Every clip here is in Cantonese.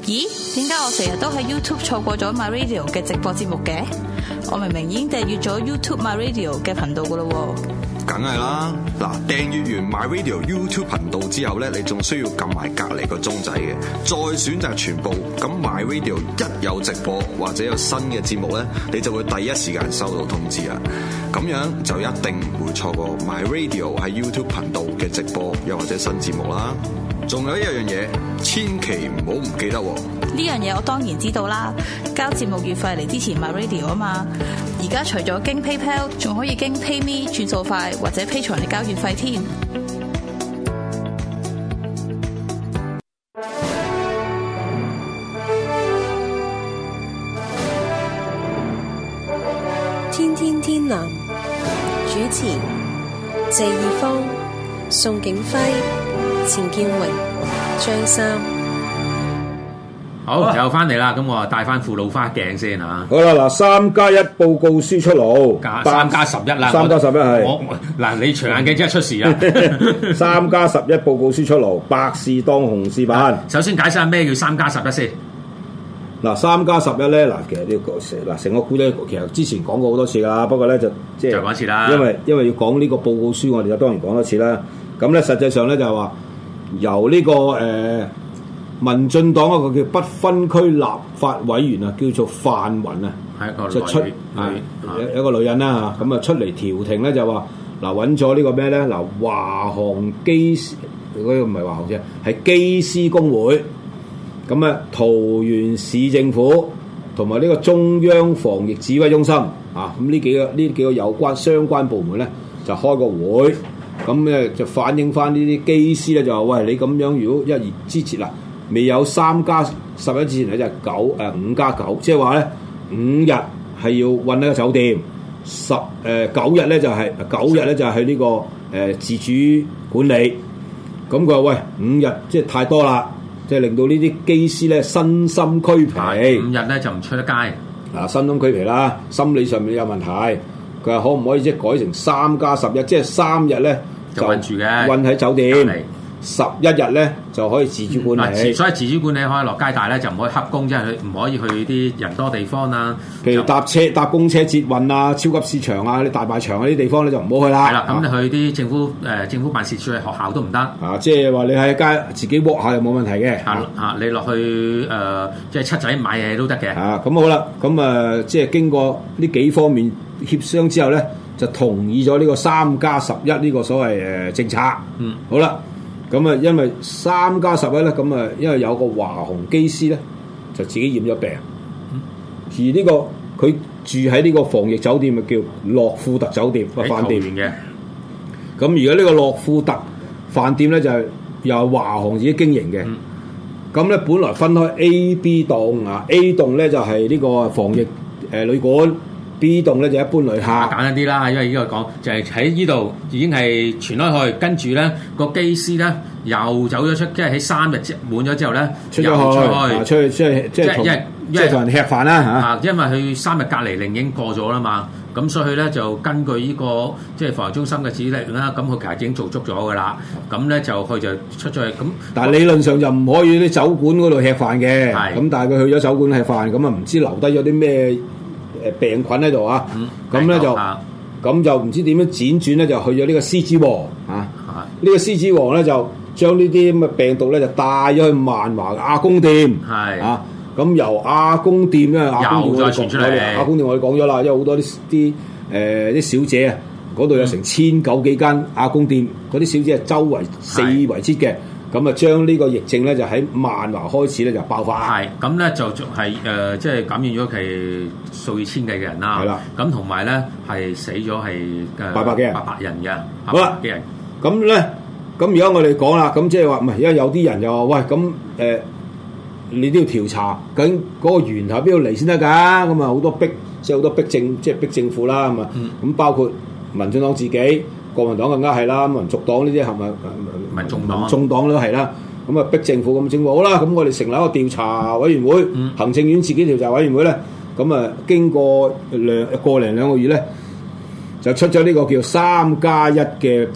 咦？點解我成日都喺 YouTube 錯過咗 My Radio 嘅直播節目嘅？我明明已經訂閱咗 YouTube My Radio 嘅頻道噶啦喎。 梗係啦，嗱，訂閱完 My Radio YouTube 頻道之後咧，你仲需要撳埋隔離個鐘仔嘅，再選擇全部。咁 My Radio 一有直播或者有新嘅節目咧，你就會第一時間收到通知啊！咁樣就一定唔會錯過 My Radio 喺 YouTube 頻道嘅直播又或者新節目啦。仲有一樣嘢，千祈唔好唔記得喎！ 呢樣嘢我當然知道啦，交節目月費嚟支持 My Radio 啊嘛。而家除咗經 PayPal， 仲可以經 PayMe 轉數快或者 Patreon嚟交月費添。 天天天藍主持謝義方、宋景輝、錢建榮、張三。 好，又翻嚟啦，咁我帶翻副老花鏡先嚇。 好啦，嗱，3+1報告書出爐 ，3+11啦 ，3+11係。 我嗱，你長眼鏡即係出事啦。 3+11報告書出爐，百事當紅事辦。 首先解釋下咩叫3+11先。 嗱，3+11咧，嗱，其實呢個成個故仔其實之前講過好多次㗎，不過咧就講一次啦。 因為要講呢個報告書，我哋就當然講多次啦。咁咧實際上咧就係話由呢個民進黨一個叫不分區立法委員啊，叫做范雲啊， 係一個就出一個女人啦嚇，咁啊出嚟調停咧就話嗱揾咗呢個咩咧，嗱華航機嗰個唔係華航啫，係機師工會，咁啊桃園市政府同埋呢個中央防疫指揮中心啊，咁呢幾個有關相關部門咧就開個會，咁咧就反映翻呢啲機師咧就話喂，你咁樣如果之前嗱。未有3+11之前咧就係5+9，即係話咧5日係要韞喺個酒店，9日咧就係去呢個自主管理。咁佢話喂5日即係太多啦，即係令到呢啲機師咧身心俱疲。5 日咧就唔出得街。 嗱，身心俱疲啦，心理上面有問題。佢話可唔可以即係改成3+11，即係3日咧就韞住嘅，韞喺酒店。11日咧就可以自主管理， 所以自主管理可以落街，但係咧就唔可以黑工，即係唔可以去啲人多地方啦。 譬如搭公車捷運啊、超級市場啊、啲大賣場啊啲地方咧就唔好去啦。 係啦，咁你去啲政府辦事處、學校都唔得。 啊，即係話你喺街自己walk下又冇問題嘅。 你落去即係七仔買嘢都得嘅。 咁好啦，咁即係經過呢幾方面協商之後咧，就同意咗呢個3+11呢個所謂政策。好啦。咁啊，因為3+11咧，咁啊，因為有個華航機師咧，就自己染咗病，而呢個佢住喺呢個防疫酒店，咪叫諾富特酒店個飯店嘅。咁而家呢個諾富特飯店咧，就係由華航自己經營嘅。咁咧，本來分開 A、B 棟啊 ，A 棟咧就係呢個防疫旅館。B 棟咧就一般旅客， 簡單啲啦，因為呢個講就係喺呢度已經係傳開去，跟住咧個機師咧又走咗出，即係喺3日滿咗之後咧， 出去即係同人吃飯啦嚇。 因為佢3日隔離令已經過咗啦嘛，咁所以佢咧就根據呢個即係防疫中心嘅指令啦，咁佢其實已經做足咗噶啦，咁咧就佢就出咗去咁。 但係理論上就唔可以啲酒館嗰度吃飯嘅，咁但係佢去咗酒館吃飯，咁啊唔知留低咗啲咩病菌喺度啊，咁咧就唔知點樣輾轉咧，就去咗呢個獅子王啊！呢個獅子王咧就將呢啲咁嘅病毒咧就帶咗去萬華阿公店，啊！咁由阿公店咧，阿公店我哋講咗啦，因為好多啲小姐啊，嗰度有成1900幾間阿公店，嗰啲小姐係周圍四圍切嘅。咁啊，將呢個疫症咧就喺萬華開始咧就爆發。係，咁咧就係即係感染咗係數以千計嘅人啦。係啦，咁同埋咧係死咗係800人嘅。好啦，幾人？咁咧，咁而家我哋講啦，咁即係話唔係，而家有啲人就話喂，咁你都要調查，究竟嗰個源頭邊度嚟先得㗎？咁啊好多即係好多逼政府啦，咁啊，咁包括民進黨自己。國民黨更加係啦，民族黨呢啲係咪民眾黨都係啦，咁啊逼政府，咁政府好啦，咁我哋成立一個調查委員會，行政院自己調查委員會咧，咁啊經過個零兩個月咧， 就出咗呢個叫3+1嘅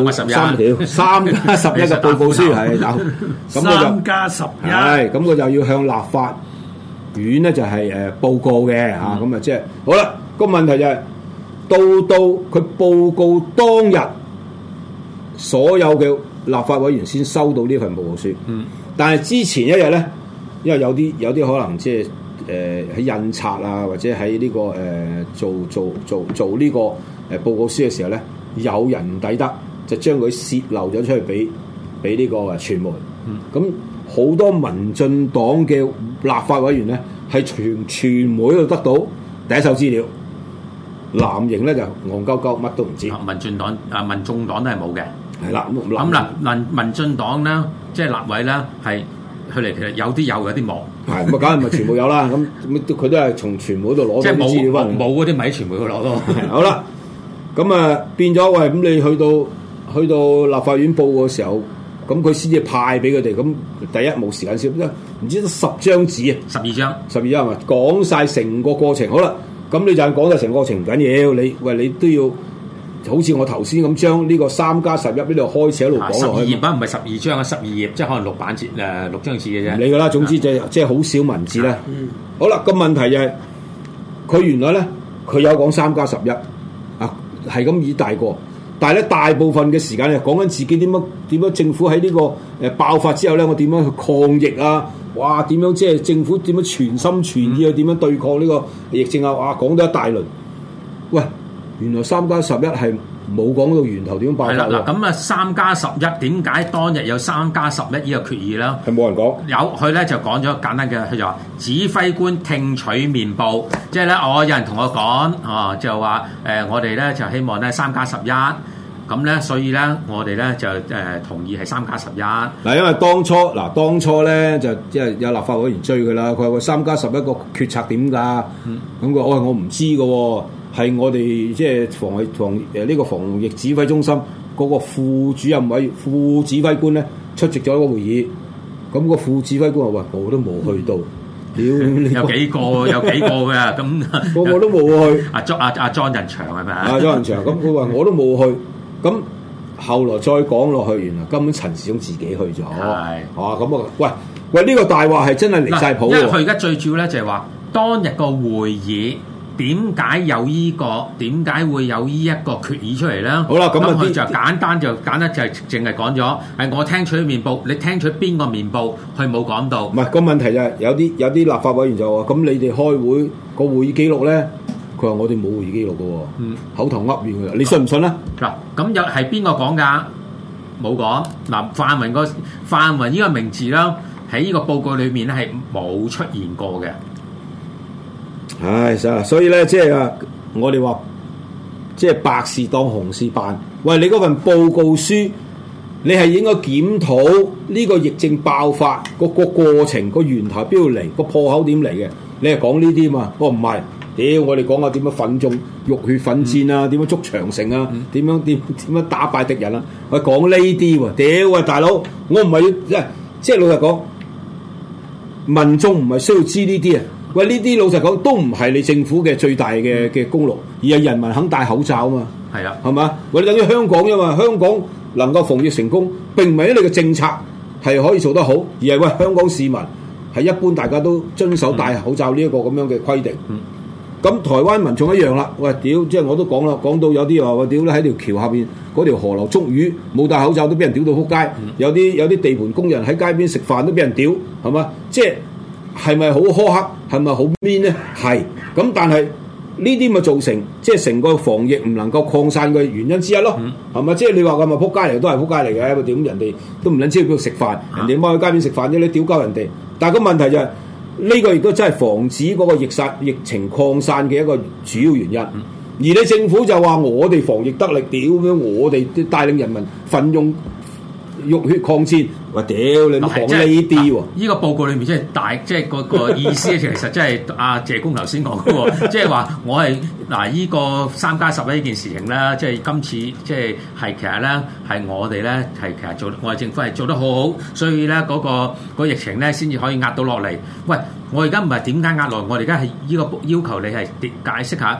3條3+11嘅報告書係有，咁佢就係咁佢就要向立法院咧就係報告嘅嚇，咁啊即係好啦。個問題就係到佢報告當日，所有嘅立法委員先收到呢份報告書。但係之前一日咧，因為有啲可能即係喺印刷啊，或者喺呢個做呢個報告書嘅時候咧，有人唔抵得，就將佢泄漏咗出去俾呢個傳媒。咁好多民進黨嘅立法委員咧，係傳媒度得到第一手資料。藍營咧就戇鳩鳩，乜都唔知。 民進黨民眾黨都係冇嘅。 係啦， 咁嗱，民進黨咧，即係立委咧，係佢哋其實有啲有啲冇。係咁啊，梗係咪全部有啦？咁佢都係從傳媒度攞到啲資料翻嚟。 冇嗰啲咪喺傳媒度攞咯。 好啦，咁啊變咗喂，咁你去到立法院報嘅時候，咁佢先至派俾佢哋。咁第一冇時間先，唔知得10張紙啊，12張係咪講晒成個過程？好啦。咁你就講晒成個過程唔緊要，你都要好似我頭先咁將呢個3+11呢度開始喺度講落去。12頁唔係12張啊，12頁即係可能6張紙嘅啫。唔理㗎啦，總之即係好少文字啦。好啦，個問題就係佢原來咧佢有講3+11啊，係咁以大過，但係咧大部分嘅時間咧講緊自己點樣政府喺呢個爆發之後咧，我點樣去抗疫啊？哇！點樣即係政府點樣全心全意去點樣對抗呢個疫症啊？哇！講咗一大輪，喂，原來3+11係冇講到源頭點樣爆發喎。係啦，嗱咁啊3+11點解當日有3+11呢個決議咧？係冇人講。有佢咧就講咗簡單嘅，佢就話指揮官聽取面報，即係咧有人同我講就話我哋咧就希望咧3+11。咁咧，所以咧，我哋咧就同意係3+11。嗱，因為當初咧就即係有立法委員追佢啦。佢話3+11個決策點㗎？咁佢我唔知嘅喎，係我哋即係呢個防疫指揮中心嗰個副指揮官咧出席咗一個會議。咁個副指揮官話：喂，我都冇去到。屌，有幾個嘅咁，個個都冇去。阿莊人祥係咪啊？莊人祥咁，佢話我都冇去。咁後來再講落去，原來根本陳時中自己去咗。係，咁啊，喂，呢個大話係真係離晒譜喎。因為佢而家最主要咧就係話，當日個會議點解會有呢一個決議出嚟咧？好啦，咁佢就簡單就淨係講咗，係我聽取面報，你聽取邊個面報，佢冇講到。唔係個問題就係有啲立法委員就話：咁你哋開會個會議記錄咧？佢話我哋冇會議記錄嘅喎，口頭噏完嘅，你信唔信咧？嗱，咁又係邊個講㗎？冇講。嗱，泛民呢個名字啦，喺呢個報告裏面咧係冇出現過嘅。唉，所以咧，即係啊，我哋話即係白事當紅事辦。喂，你嗰份報告書，你係應該檢討呢個疫症爆發個過程，個源頭邊度嚟，個破口點嚟嘅？你係講呢啲嘛？我唔係。屌！我哋講下點樣奮眾浴血奮戰啊？點樣築長城啊？點樣打敗敵人啊？我講呢啲喎！屌喂，大佬，我唔係要即係老實講，民眾唔係需要知呢啲啊！喂，呢啲老實講都唔係你政府嘅最大嘅功勞，而係人民肯戴口罩啊嘛！係啊，係嘛？喂，你等於香港啫嘛！香港能夠防疫成功，並唔係因為你嘅政策係可以做得好，而係喂香港市民係一般大家都遵守戴口罩呢一個咁樣嘅規定。咁台灣民眾一樣啦，喂屌！即係我都講啦，講到有啲話喂屌咧喺條橋下邊嗰條河流捉魚，冇戴口罩都俾人屌到撲街。有啲地盤工人喺街邊食飯都俾人屌，係嘛？即係咪好苛刻？係咪好 mean 咧？係。咁但係呢啲咪造成即係成個防疫唔能夠擴散嘅原因之一咯，係咪？即係你話咁咪撲街嚟都係撲街嚟嘅，點人哋都唔撚知去邊度食飯，人哋踎喺街邊食飯啫，你屌鳩人哋。但係個問題就係。呢個亦都真係防止嗰個疫情擴散嘅一個主要原因，而你政府就話我哋防疫得力，屌咁樣，我哋帶領人民奮勇浴血抗戰，話屌你都講呢啲喎。呢個報告裏面即係個意思，其實即係阿謝公頭先講嘅喎，即係話我係呢個3+11呢件事情咧，即係今次即係其實咧係我哋咧係其實我哋政府係做得好好，所以咧個疫情咧先至可以壓到落嚟。喂，我而家唔係點解壓落嚟，我哋而家係呢個要求你係解釋下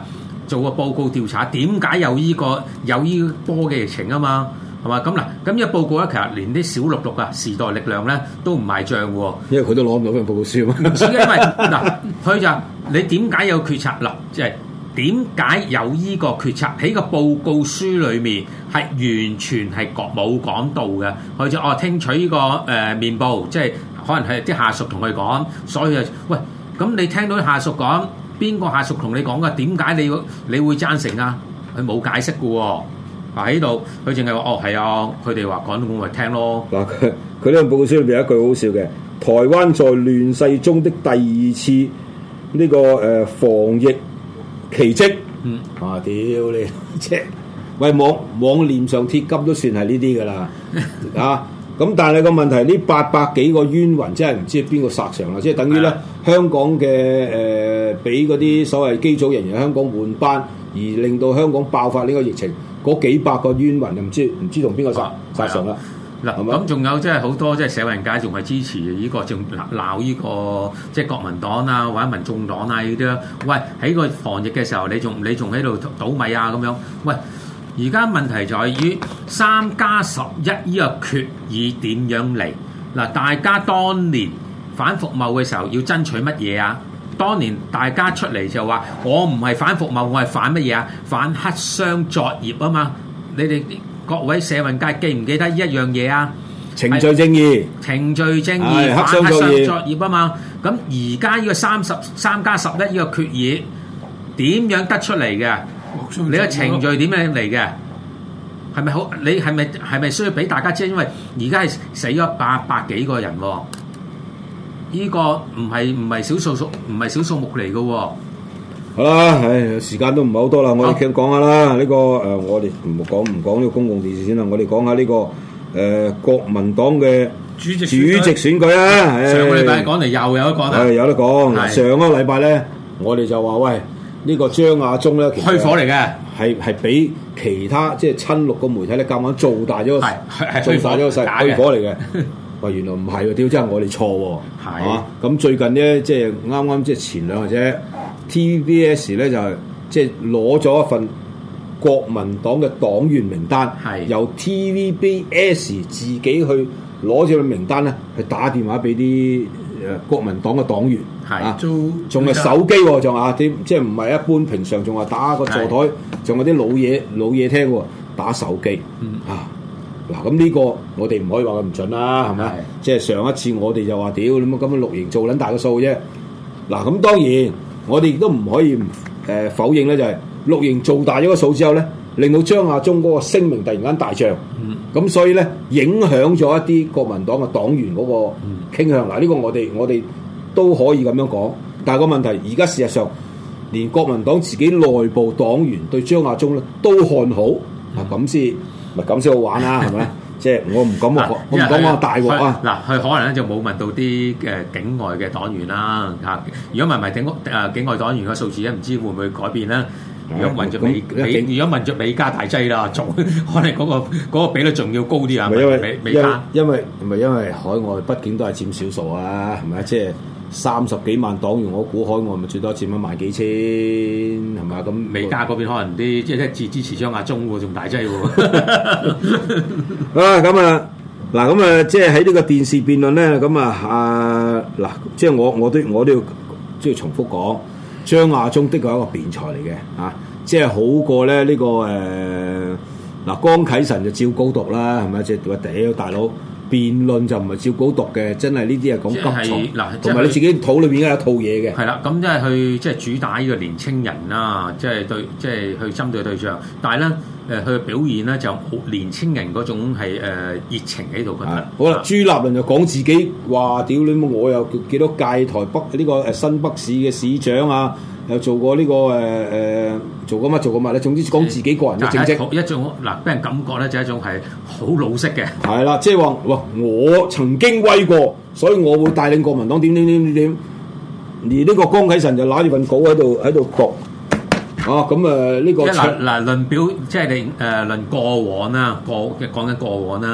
做個報告調查，點解有呢波嘅疫情啊嘛？係嘛？咁嗱，咁呢個報告咧，其實連啲小綠綠啊、時代力量咧都唔賣帳喎， 因為佢都攞唔到份報告書嘛。 因為嗱，佢就你點解有決策嗱？即係點解有呢個決策喺個報告書裏面係完全係冇講到嘅？佢就聽取呢個面報，即係可能係啲下屬同佢講，所以喂，咁你聽到下屬講，邊個下屬同你講嘅？點解你會贊成啊？佢冇解釋嘅喎。喺度，佢淨係話係啊，佢哋話講咁咪聽咯。嗱， 佢呢個報告書裏邊有一句好笑嘅，台灣在亂世中的第二次呢個防疫奇蹟。屌你，即係喂網臉上貼金都算係呢啲噶啦啊！咁但係個問題呢800幾個冤魂真係唔知邊個殺上啦，即係等於咧香港嘅俾嗰啲所謂機組人員香港換班，而令到香港爆發呢個疫情。嗰幾百個冤魂就唔知同邊個殺上啦。 嗱，咁仲有即係好多即係社運界仲係支持呢個，仲鬧呢個即係國民黨啊或者民眾黨啊呢啲啦。喂，喺個防疫嘅時候，你仲喺度倒米啊咁樣？喂，而家問題在於3+11呢個決議點樣嚟？嗱，大家當年反服貿嘅時候要爭取乜嘢啊？當年大家出嚟就話：我唔係反服貿，我係反乜嘢啊？反黑箱作業啊嘛！你哋各位社運界記唔記得呢一樣嘢啊？ 程序正義， 反黑箱作業啊嘛！咁而家呢個3+11呢個決議點樣得出嚟嘅？你個程序點樣嚟嘅？係咪好？你係咪需要俾大家知？因為而家係死咗800幾個人喎。呢個唔係小數目嚟嘅喎。 好啦，時間都唔係好多啦，我哋講下啦。呢個我哋唔講呢個公共電視先啦，我哋講下呢個國民黨嘅主席選舉啊。 上個禮拜講嚟又有得講啦， 有得講。上個禮拜咧，我哋就話喂，呢個張亞中咧， 虛火嚟嘅， 係俾其他即係親綠個媒體咧，夾硬做大咗個勢，虛火嚟嘅。喂，原來唔係喎，屌真係我哋錯喎，係嘛？咁最近咧，即係啱即係前兩日啫 ，TVBS 咧就係即係攞咗一份國民黨嘅黨員名單，由 TVBS 自己去攞住個名單咧，去打電話俾啲國民黨嘅黨員，仲係手機喎，仲啲即係唔係一般平常，仲話打個座台，仲有啲老嘢聽喎，打手機啊！嗱，咁呢個我哋唔可以話佢唔準啦，係咪？即係上一次我哋就話屌你乜咁樣綠營做撚大個數啫。嗱，咁當然我哋亦都唔可以否認咧，就係綠營做大咗個數之後咧，令到張亞中嗰個聲名突然間大漲，咁所以咧影響咗一啲國民黨嘅黨員嗰個傾向。嗱，呢個我哋都可以咁樣講，但係個問題而家事實上連國民黨自己內部黨員對張亞中咧都看好，咁先好玩啦，係咪？即係我唔敢講大鑊啊！ 嗱，佢可能咧就冇問到啲境外嘅黨員啦嚇。如果問埋境外黨員嘅數字咧，唔知會唔會改變咧？如果問著美加大劑啦，仲可能嗰個比率仲要高啲啊！ 因為海外畢竟都係佔少數啊，係咪？即係30幾萬黨員，我估海外咪最多佔1萬幾千，係咪？咁美加嗰邊可能啲即係支持張亞中喎，仲大劑喎。 咁啊，即係喺呢個電視辯論咧，咁嗱，即係我都要即係重複講，張亞中的確係一個辯才嚟嘅，即係好過咧呢個江啟臣就照稿讀啦，係咪？即係話屌大佬。辯論就唔係照稿讀嘅，真係呢啲係講急躁，同埋你自己肚裏邊有一套嘢嘅。 係啦，咁即係去即係主打呢個年青人啦，即係去針對對象。但係咧，佢嘅表現咧就好年青人嗰種係熱情喺度。覺得好啦，朱立倫就講自己話：屌你媽！我有幾多屆台北呢個新北市嘅市長啊，又做過呢個做過乜咧？總之講自己個人嘅政績。 一種嗱，俾人感覺咧就係一種係好老式嘅。 係啦，即係話我曾經威過，所以我會帶領國民黨點。而呢個江啟臣就攞住份稿喺度讀。咁呢個論表即係你論過往啦，講緊過往啦。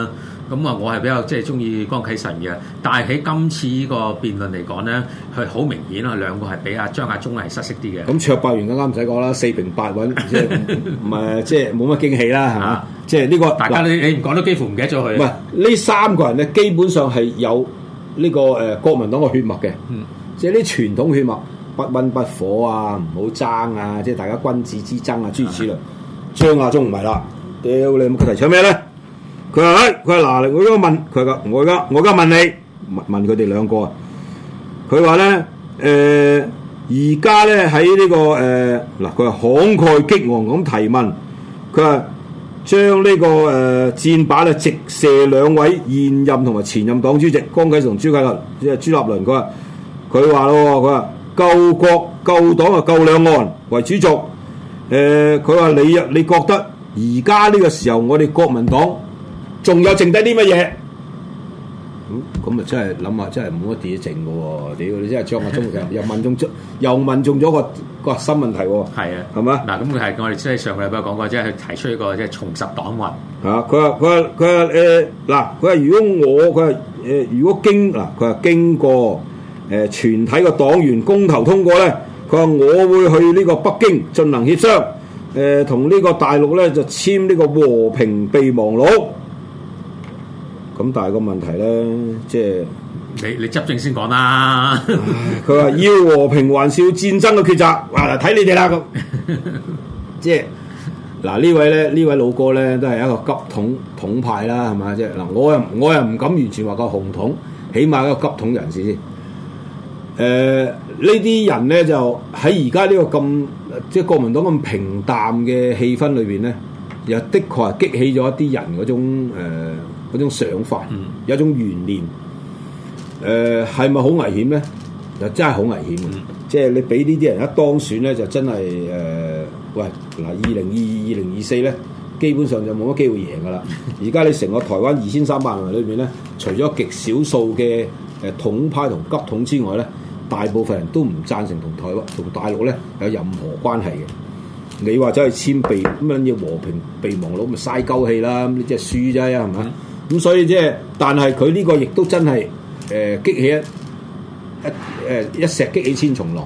咁啊，我係比較即係中意江啟臣嘅，但係喺今次呢個辯論嚟講咧，佢好明顯啊，兩個係比張亞中係失色啲嘅。 咁卓伯源更加唔使講啦，4平8穩，即係唔係即係冇乜驚喜啦，係嘛？即係呢個大家你唔講都幾乎唔記得咗佢。 唔係呢三個人咧，基本上係有呢個國民黨嘅血脈嘅，即係啲傳統血脈，不溫不火啊，唔好爭啊，即係大家君子之爭啊，諸如此類。張亞中唔係啦，屌你佢提倡咩咧？佢話：佢話嗱，我而家問佢話，我而家問你，問佢哋兩個啊。佢話咧，而家咧喺呢個嗱，佢話慷慨激昂咁提問，佢話將呢個箭靶咧直射兩位現任同埋前任黨主席江啟臣同朱立倫，即係朱立倫。佢話咯，佢話救國救黨啊，救兩岸為主軸。佢話你覺得而家呢個時候我哋國民黨仲有剩低啲乜嘢？咁啊，真係諗下，真係冇乜嘢剩嘅喎！屌你真係張亞中又問中咗個新問題喎！ 係啊， 係嘛？ 嗱，咁佢係我哋即係上個禮拜講過，即係佢提出一個即係重拾黨運。 佢話如果經過全體嘅黨員公投通過咧，佢話我會去呢個北京進行協商，同呢個大陸咧就簽呢個和平備忘錄。咁但係個問題咧，即係你執政先講啦。 佢話要和平還是要戰爭嘅抉擇，嗱睇你哋啦咁。即係嗱呢位老哥咧，都係一個急統派啦，係嘛？即係嗱，我又唔敢完全話個紅統，起碼一個急統人士先。呢啲人咧就喺而家呢個咁即係國民黨咁平淡嘅氣氛裏邊咧，又的確係激起咗一啲人嗰種想法，有一種懸念。係咪好危險咧？就真係好危險嘅。即係你俾呢啲人一當選咧，就真係喂嗱，2022、2024咧，基本上就冇乜機會贏噶啦。而家你成個台灣2300萬人裏邊咧，除咗極少數嘅統派同急統之外咧，大部分人都唔贊成同台灣同大陸咧有任何關係嘅。你話走去簽備咁樣要和平備忘錄，咪嘥鳩氣啦！咁你即係輸啫，係咪？咁所以即係，但係佢呢個亦都真係激起一石激起千重浪。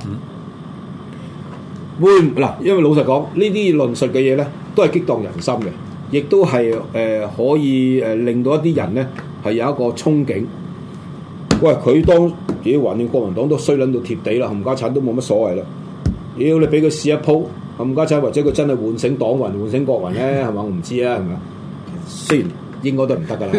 嗱，因為老實講，呢啲論述嘅嘢咧，都係激盪人心嘅，亦都係可以令到一啲人咧係有一個憧憬。喂，佢當自己橫掂國民黨都衰撚到貼地啦，冚家產都冇乜所謂啦。妖你俾佢試一鋪，冚家產或者佢真係喚醒黨運、喚醒國運咧，係嘛？我唔知啊，係咪？雖然應該都唔得噶啦。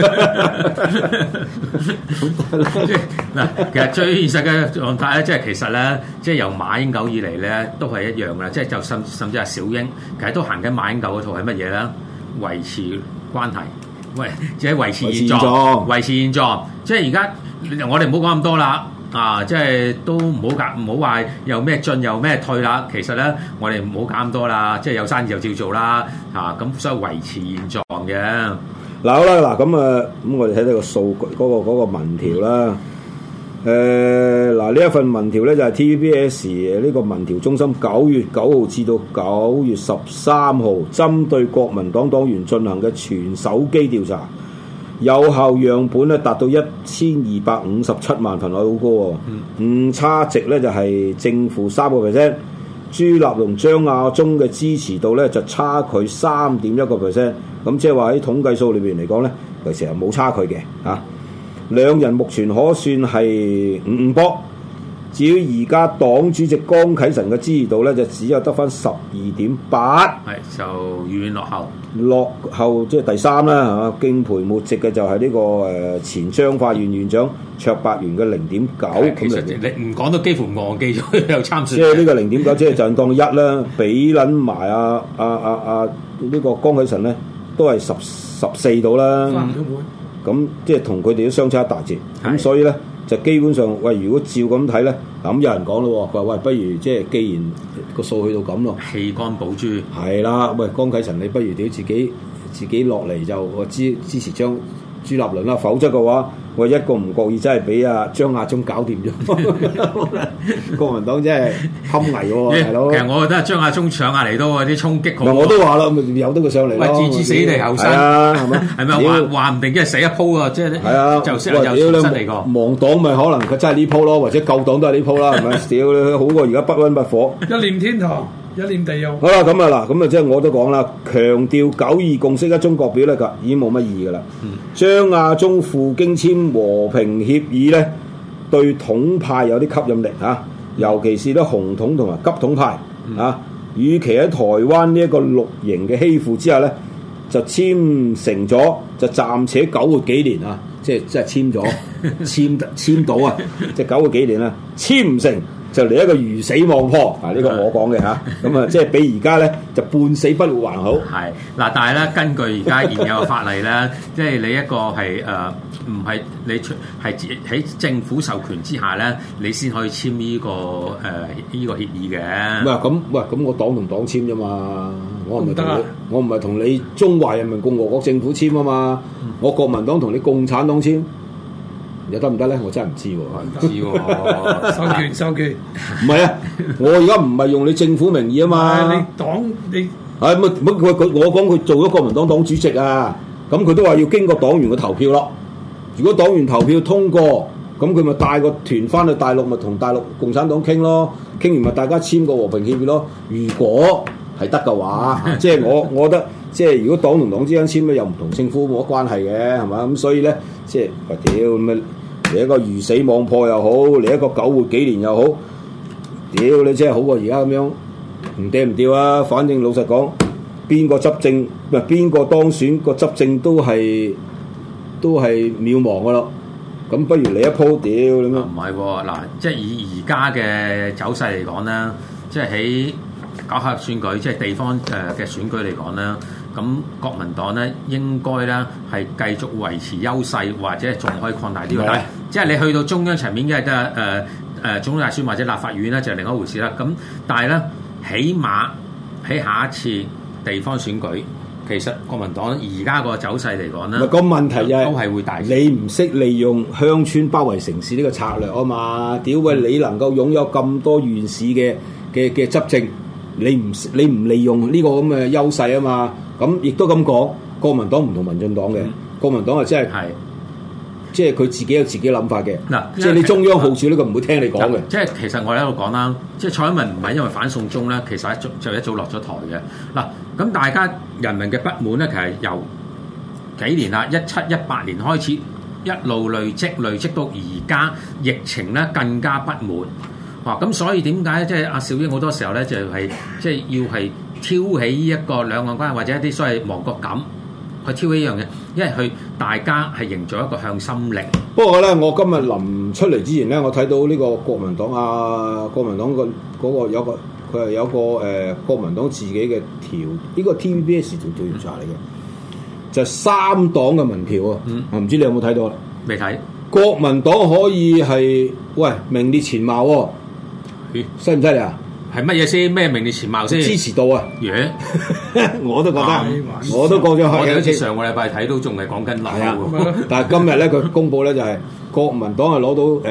嗱，其實最現實嘅狀態咧，即係其實咧，即係由馬英九以嚟咧，都係一樣噶啦。即係就甚至係小英，其實都行緊馬英九嗰套係乜嘢咧？維持關係，喂，即係維持現狀，維持現狀。即係而家我哋唔好講咁多啦。即係都唔好話又咩進又咩退啦。其實咧，我哋唔好搞咁多啦。即係有生意就照做啦。咁所以維持現狀嘅。 嗱好啦，咁我哋睇睇個數據嗰個民調啦。呢一份民調咧就係 TVBS 呢個民調中心9月9號至到9月13號針對國民黨黨員進行嘅全手機調查。有效樣本咧達到1257萬份，好高喎。誤差值咧就係正負3%。朱立倫、張亞中嘅支持度咧就差距3.1%。咁即係話喺統計數裏邊嚟講咧，其實係冇差距嘅嚇。兩人目前可算係五波。至於而家黨主席江啟臣嘅支持度咧，就只有得返12.8， 就遠遠落後即係第三啦嚇。敬陪末席嘅就係呢個前彰化縣縣長卓伯源嘅0.9。 其實你唔講都幾乎忘記咗有參選。 即係呢個0.9，即係就當1啦，比撚埋呢個江啟臣咧，都係14度啦。咁即係同佢哋都相差一大截。咁所以咧。就基本上，喂，如果照咁睇咧，咁有人講咯，佢話喂，不如即係既然個數去到咁咯， 棄肝保豬係啦，喂，江啟臣你不如屌自己落嚟就支持朱立倫啦，否則嘅話， 我一個唔覺意真係俾阿張亞中搞掂咗，國民黨真係堪危喎，大佬。 其實我覺得張亞中上下嚟都啲衝擊好。 我都話啦，咪由得佢上嚟咯。 置之死地後生， 係咪？ 係咪話唔定即係死一鋪啊？即係係啊， 就識又重新嚟過。 亡黨咪可能佢真係呢鋪咯，或者救黨都係呢鋪啦，係咪？屌你好過而家不溫不火。 一念天堂，一念地獄。 好啦，咁啊嗱，咁啊即係我都講啦，強調九二共識一中各表咧，已經冇乜意義噶啦。張亞中赴京簽和平協議咧，對統派有啲吸引力嚇，尤其是咧紅統同埋急統派啊。與其喺台灣呢一個綠營嘅欺負之下咧，就簽成咗，就暫且9個幾年啊，即係簽咗簽到啊，即係9個幾年啦，簽唔成。就嚟一個魚死網破啊！呢個我講嘅嚇，咁啊即係比而家咧就半死不活還好。 係嗱，但係咧根據而家現有嘅法例咧，即係你一個係唔係你係喺政府授權之下咧，你先可以簽呢個呢個協議嘅。 咁我黨同黨簽啫嘛，我唔係同你中華人民共和國政府簽啊嘛，我國民黨同你共產黨簽。又得唔得咧？我真係唔知喎， 唔知喎。 授權， 唔係啊！我而家唔係用你政府名義啊嘛。 你黨你係我講佢做咗國民黨黨主席啊，咁佢都話要經過黨員嘅投票咯。如果黨員投票通過，咁佢咪帶個團翻去大陸，咪同大陸共產黨傾咯。傾完咪大家簽個和平協議咯。如果係得嘅話，即係我覺得，即係如果黨同黨之間簽咧，又唔同政府冇乜關係嘅，係嘛？咁所以咧，即係喂屌咁啊！嚟一個魚死網破又好，嚟一個9活幾年又好，屌你真係好過而家咁樣唔嗲唔吊啊！反正老實講，邊個執政唔係邊個當選個執政都係渺茫噶咯。咁不如嚟一鋪屌你咩？ 唔係喎，嗱，即係以而家嘅走勢嚟講咧，即係喺搞下選舉，即係地方嘅選舉嚟講咧。咁國民黨咧應該咧係繼續維持優勢，或者仲可以擴大啲。但係即係你去到中央層面嘅得總統大選或者立法院咧就係另一回事啦。咁但係咧，起碼喺下一次地方選舉，其實國民黨而家個走勢嚟講咧， 個問題就係都係會大。 你唔識利用鄉村包圍城市呢個策略啊嘛？屌喂，你能夠擁有咁多縣市嘅執政，你唔利用呢個咁嘅優勢啊嘛？咁亦都咁講，國民黨唔同民進黨嘅，國民黨係即係佢自己有自己諗法嘅。嗱，即係你中央號召呢個唔會聽你講嘅。 即係其實我喺度講啦，即係蔡英文唔係因為反送中咧，其實一早落咗台嘅。嗱，咁大家人民嘅不滿咧，其實由幾年啦，17、18年開始一路累積到而家疫情咧更加不滿。哇！咁所以點解即係阿小英好多時候咧就係即係要係挑起呢一個兩岸關係或者一啲所謂亡國感去挑起呢樣嘢，因為佢大家係營造一個向心力。 不過咧，我今日臨出嚟之前咧，我睇到呢個國民黨國民黨嗰個有個佢係有個國民黨自己嘅呢個 TVBS 做調查嚟嘅，就係3黨嘅民調啊。唔知你有冇睇到啦？ 未睇。 國民黨可以係名列前茅喎。犀唔犀利啊？ 係乜嘢先？咩名列前茅先？ 支持度啊！我都覺得，我都過咗去。 我哋好似上個禮拜睇到仲係講緊樓， 但係今日咧佢公佈咧就係國民黨係攞到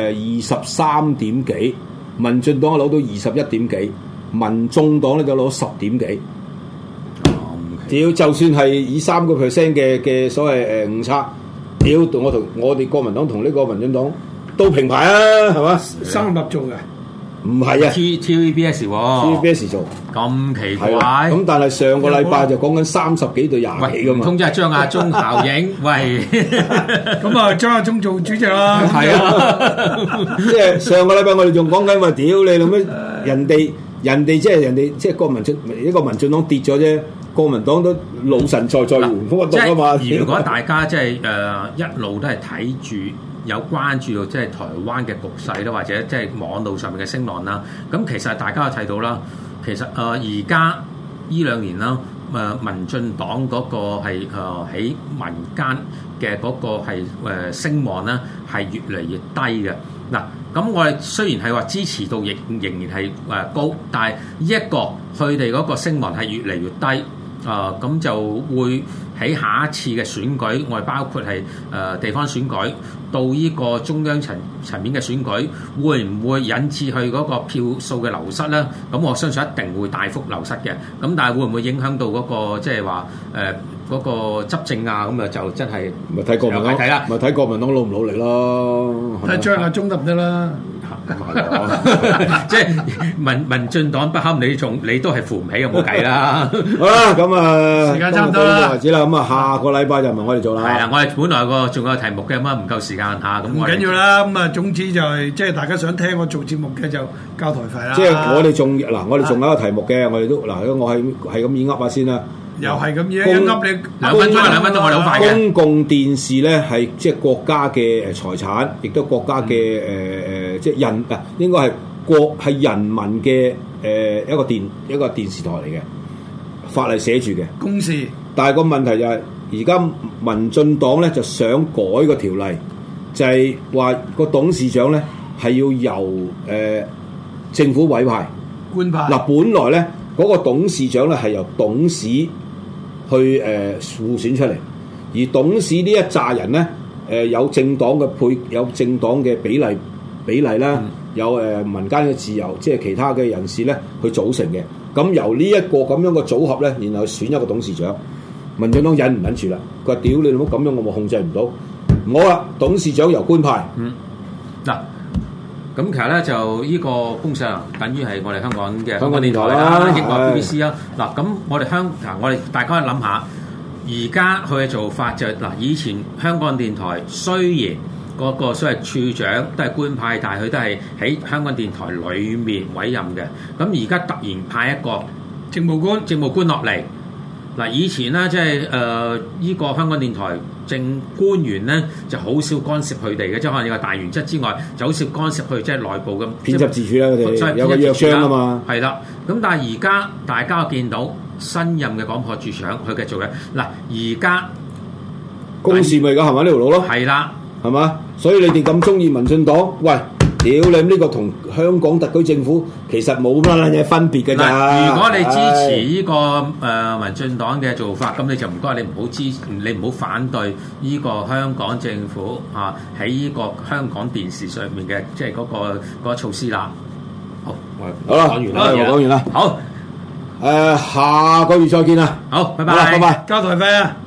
23點幾，民進黨係攞到21點幾，民眾黨咧就攞10點幾。屌，就算係以3% 嘅所謂誤差，屌我哋國民黨同呢個民進黨都平排啊，係嘛？ 三合做嘅。 唔係啊 ，TVBS 喎 ，TVBS 做咁奇怪。 咁但係上個禮拜就講緊30幾對20幾噶嘛。 唔通即係張亞中效應？喂， 咁啊張亞中做主席啦。 係啊，即係上個禮拜我哋仲講緊話，屌你老咩？人哋即係國民進一個民進黨跌咗啫，國民黨都老神在在，原封不動啊嘛。 如果大家即係一路都係睇住。有關注到即係台灣嘅局勢啦，或者即係網路上面嘅聲浪啦。咁其實大家都睇到啦，其實而家呢2年啦，民進黨嗰個係喺民間嘅嗰個係聲望咧係越嚟越低嘅。嗱，咁我哋雖然係話支持度亦仍然係高，但係呢一個佢哋嗰個聲望係越嚟越低。咁就會喺下一次嘅選舉，我哋包括係地方選舉， 到呢個中央層面嘅選舉，會唔會引致佢嗰個票數嘅流失咧？咁我相信一定會大幅流失嘅。咁但係會唔會影響到嗰個即係話嗰個執政啊？咁啊就真係咪睇國民黨睇啦，咪睇國民黨努唔努力咯？ 睇張亞中得唔得啦？ 即係民進黨不堪你都係扶唔起，冇計啦。 好啦，咁啊， 時間差唔多啦， 為止啦。咁啊，下個禮拜就唔係我哋做啦。 係啦，我哋本來仲有題目嘅，咁啊唔夠時間嚇，咁唔緊要啦。咁啊，總之就係即係大家想聽我做節目嘅就交台費啦。 即係我哋仲有一個題目嘅，我哋都我係咁意噏下先啦。 又係咁嘢，一噏你 2分鐘，我哋好快嘅。 公共電視咧係即係國家嘅財產，亦都國家嘅即係應該係人民嘅一個電視台嚟嘅，法例寫住嘅公示。 但係個問題就係而家民進黨咧就想改個條例，就係話個董事長咧係要由政府委派官派。 嗱，本來咧嗰個董事長咧係由董事去互選出嚟，而董事呢一紮人咧有政黨嘅比例啦，有民間嘅自由，即係其他嘅人士咧去組成嘅。咁由呢一個咁樣嘅組合咧，然後選一個董事長。民進黨忍唔忍住啦？佢話：屌你老母咁樣，我控制唔到。唔好啦，董事長由官派。 嗱。咁其實咧就呢個公社等於係我哋香港嘅香港電台啦， 英國 BBC 啦。嗱，咁我哋大家諗下，而家佢嘅做法就嗱，以前香港電台雖然嗰個所謂處長都係官派，但係佢都係喺香港電台裡面委任嘅。咁而家突然派一個政務官落嚟。嗱，以前咧即係呢個香港電台政官員咧就好少干涉佢哋嘅，即係可能有個大原則之外，就好少干涉佢即係內部咁編輯自主啦，佢哋有個約章啊嘛。 係啦，咁但係而家大家見到新任嘅廣播處長佢嘅做嘅嗱，而家公事咪而家係咪呢條路咯？ 係啦， 係嘛？所以你哋咁中意民進黨，喂！屌你呢個同香港特區政府其實冇乜嘢分別嘅咋。 如果你支持呢個民進黨嘅做法，咁你就唔該你唔好反對呢個香港政府喺呢個香港電視上面嘅即係嗰個措施啦。好， 好啦，講完啦。 好， 下個月再見啦。 好，拜拜， 拜拜， 交台費啊！